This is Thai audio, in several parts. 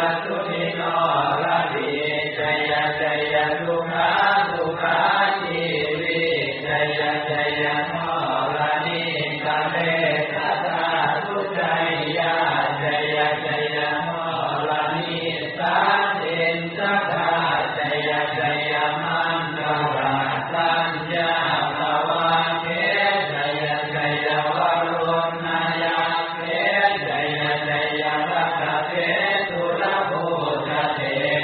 สุนิโนระดีชัยชัยทุกขาทุกขาชีวิชัยชัยโนระนิกาเลสตาทุชัยยะชัยชัยโนระนิสันติสัทธาชัยชัยมันตระสัญญาภวะเทชัยชัยวรุณายาเทชัยชัยรัตเทตุระโพธเท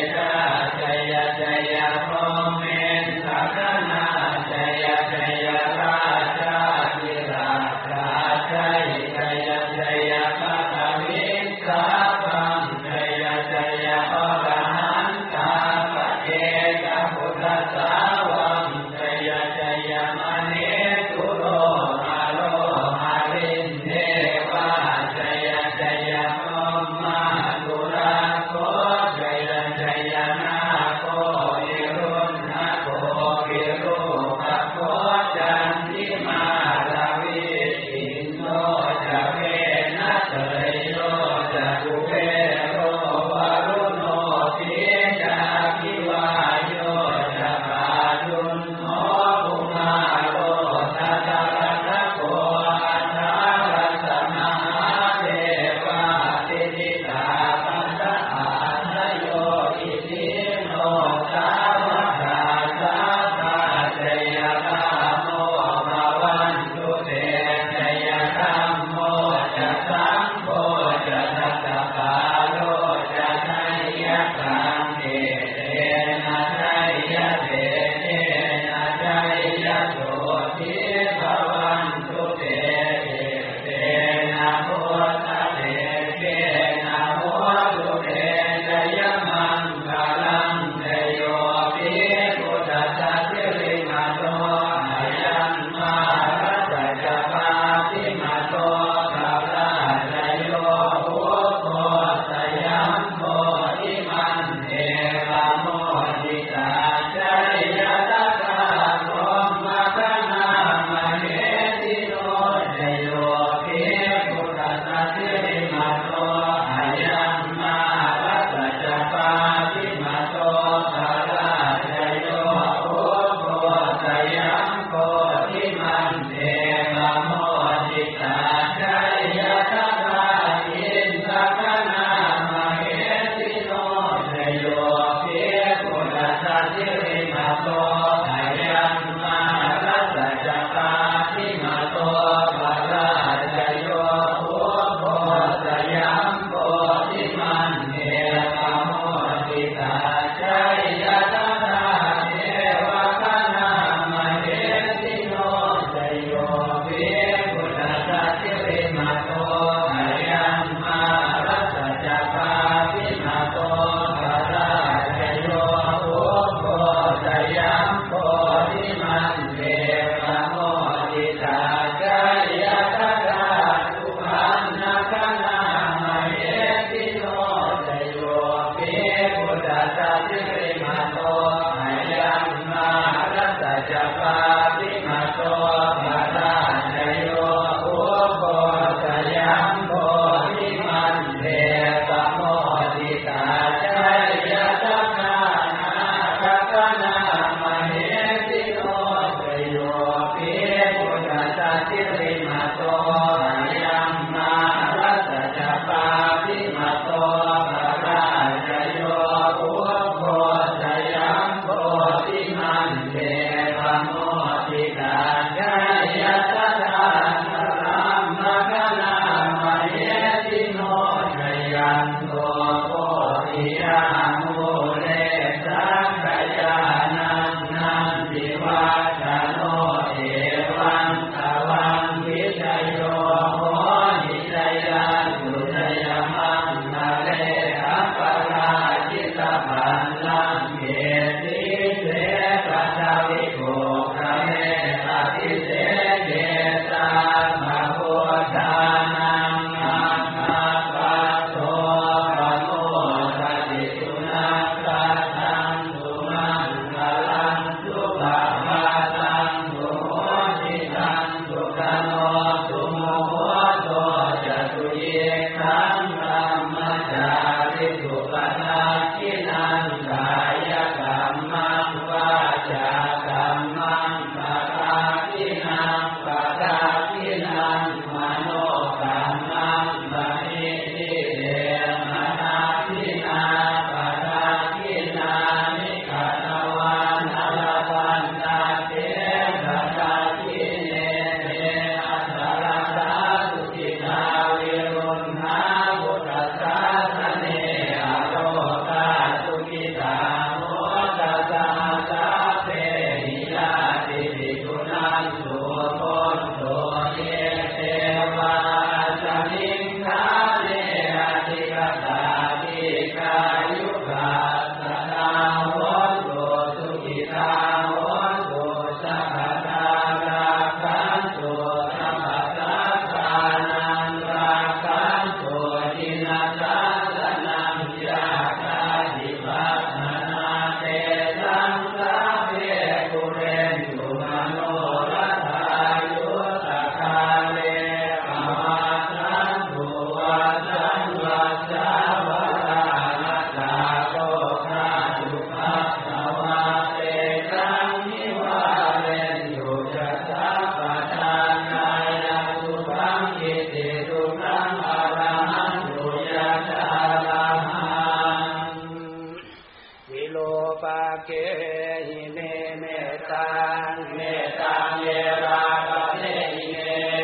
ทัสสนังยาคาธิปัสสนาเตสังสาเวปุเรนตุมโนรัฐายุตคาเลอวาสันตุวัสันวัสสาวรานัสสาโตคาตุภัสสวะเตสังนิวาเรนตุยัสสะปะทานายะสุขังอิติสุขังอรหันตุยัสสะระหังวิโลปะเกหิเมเมตังเมตังเยราปะเทหิเม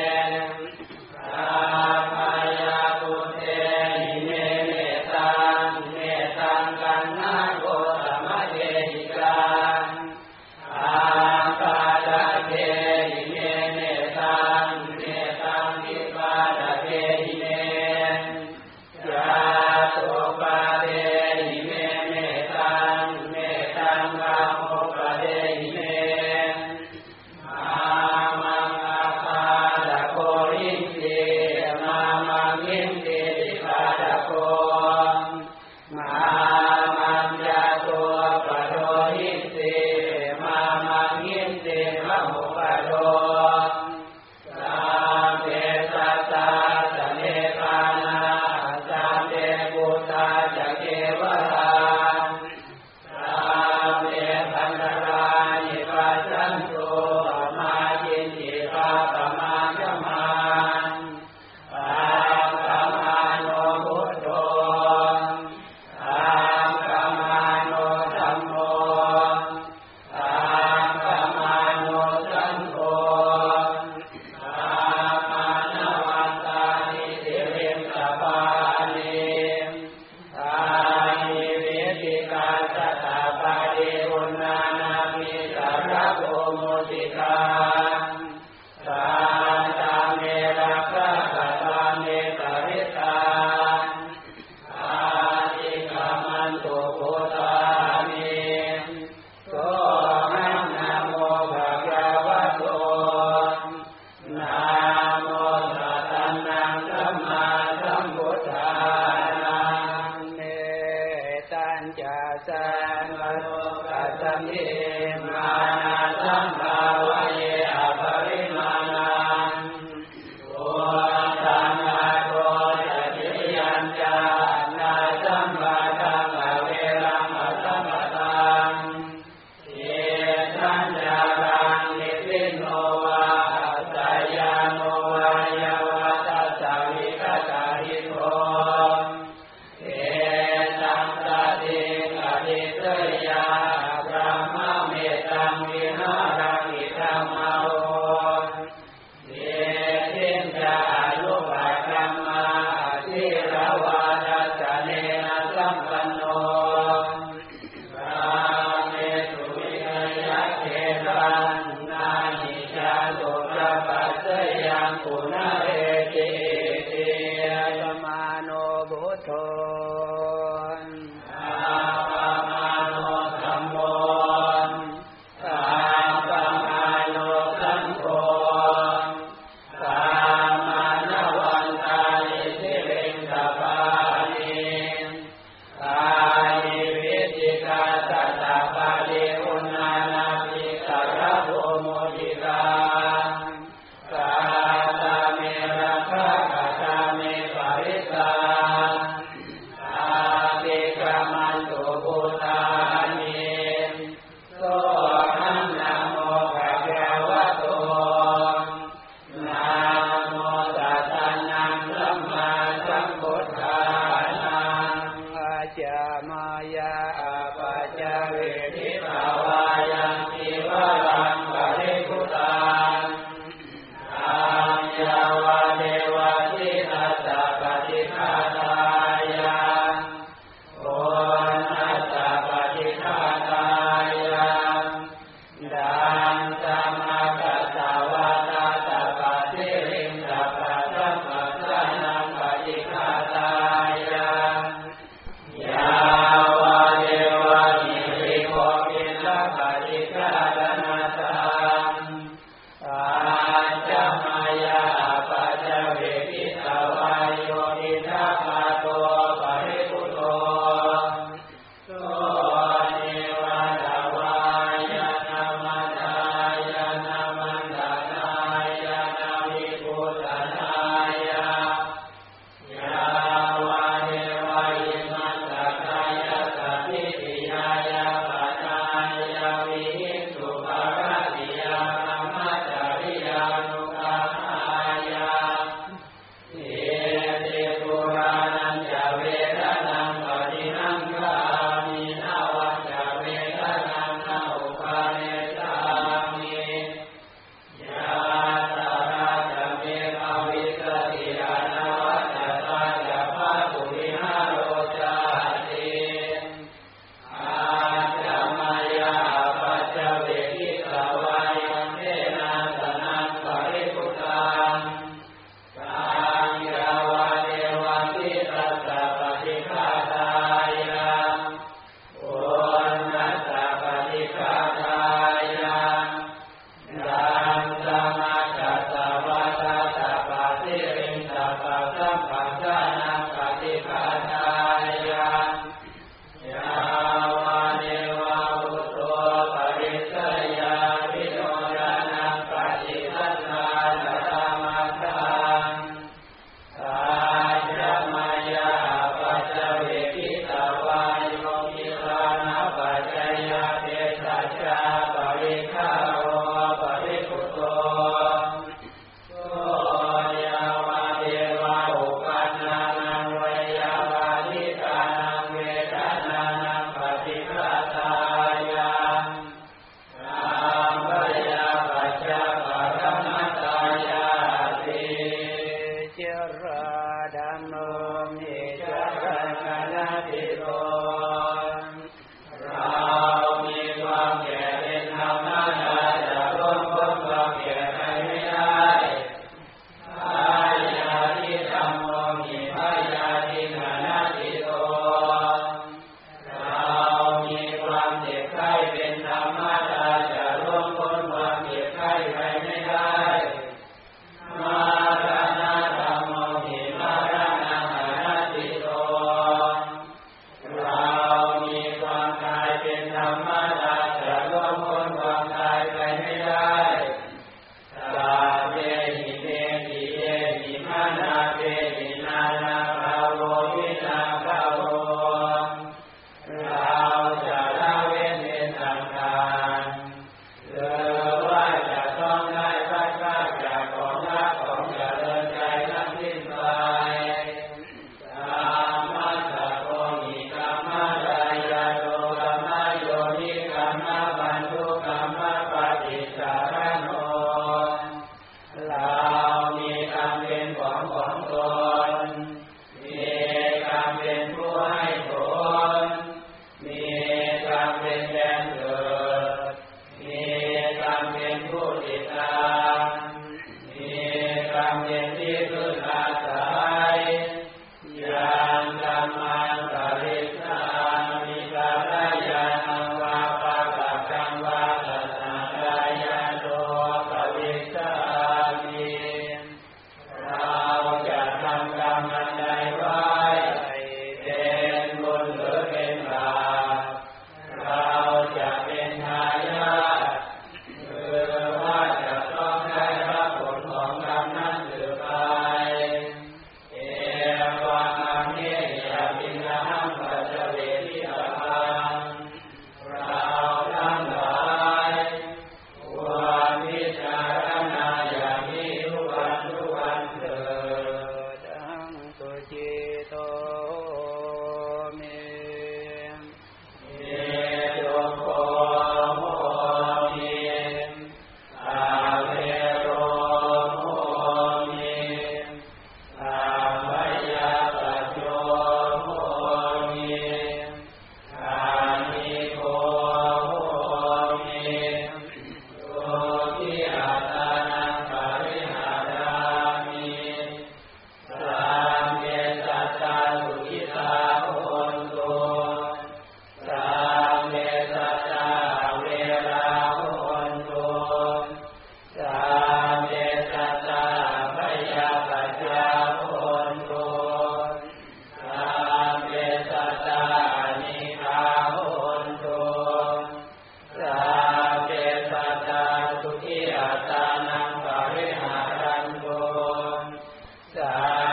ราภายาปุเตหิเมเมตังเมตังกันนาโกตมะเทหิกังอาปาดะเทหิเมเมตังเมตังวิปาดะเทหิเมยาโตปะเทหิเมเมตังเมตังกะโมปะเทหิเมอามังอาปาดะโกอินติมามังอินติวิปาดะโกมามังยะโตปะโดอินติมามังอินติมะโมปะโดสัมเปสัสสะสะเนปานาสัมเปปุตตาจะเกวราสัมเปพันธรานิปัสสันโตมาจินติปะปะมาจมันปะปะมาโนพุทโธปะปะมาโนธัมโมปะปะมาโนสังโฆปะปะนะวันตานิสิริมสปานิทานิวิติกาสัตตาปะเดอุณานามิสารโกโมติกาสันตาเมรักขะกะตาเมปริตาอาติกามันตุโกตามิโสหังนะโมภะคะวะโตนะโมตัสสะนะสัมมาสัมพุทธานังเนตัญจาสังโลกัสสมิมานาสัมภาวะเยอภริมาณังโอตังอะโตจะจิยัญจานาสัมปะทังอเวรังอสัมปะทังเยสัญญารังนิพินโนวาสายาโนวายวัตสาวิกตาหิโตเอตังสติอดิเตยาพระมะเมตังวิหารังอิธัมมาโหเยทินจายุปัฏฐัมมาทิรวาทัสสะเนนะสัมปันโนพระเมตุวินัยเขตังนาหิชาตุพระปัสสยังปุณเรติเตสมาโนบุตโธอาปะมาโนธัมโมสัมปะมาโนสังโฆสัมมานะวันตานิสิริงสปานิทานิวิติกาสัตตาปะเดอุณานามิสารโภโมติกาสัตตาเมรักขะกะตาเมปริตาอาติการังคณติโตเรามีความแก่เป็นธรรมดาจะล่วงพ้นความแก่ไปไม่ได้พยาธิธัมโมหิพยาธิคณติโตเรามีความเจ็บไข้เป็นธรรมดาจะล่วงพ้นความเจ็บไข้ไปไม่ได้มรณะธัมโมหิมรณะคณติโตเรามีความตายเป็นธรรมดาจะล่วงพ้นความตายไปไม่ได้ตาเวหิเตหิเยหิมานาเวหินานาภาโววินาภาโวเราจะละเว้นเป็นต่างๆหรือว่าจะต้องได้พัดพรากจากของรักของเจริญใจทั้งสิ้นไปธรรมะสัพโพหิกัมมะรายาโตกัมมะโยนิกัมมะปันทุกัมมะปฏิสารโนเรามีกรรมเป็นของตนมีกรรมเป็นผู้ให้ผลมีกรรมเป็นแดนเกิดมีกรรมเป็นผู้ติดตามมีกรรมเป็นที่พึ่งอาศัยยังกรรมันปริสามิกาลายานังวาปะกะกังวาตัสสะกายาโตปวิสามิเราจะทำกรรมอันใดไว้เป็นบุญหรือเป็นบาปเราจะเป็นทายาทหรือว่าจะต้องได้รับผลของกรรมนั้นหรือไปเอวังอเนยปิณหังปัจเจเวทิตาพังเราทั้งหลายควรพิจารณาอย่างนี้ทุกวันเถิดทังสุจิโตเมโยโคโมมิอาเวโรโมมิอาภยาปัจโยโมมิอานิโกโมมิโยทิอาตานังปริหารามิสัมเมสัตตาสุขิตาโหนตุสัมเมสัตตาเวราโหนตุสัมเมสัตตาพยาปัจจาโหนตุสัมเมสัตตานิฆาโหนตุสัมเมสัตตาสุขิอัตตานังปริหารันตุสั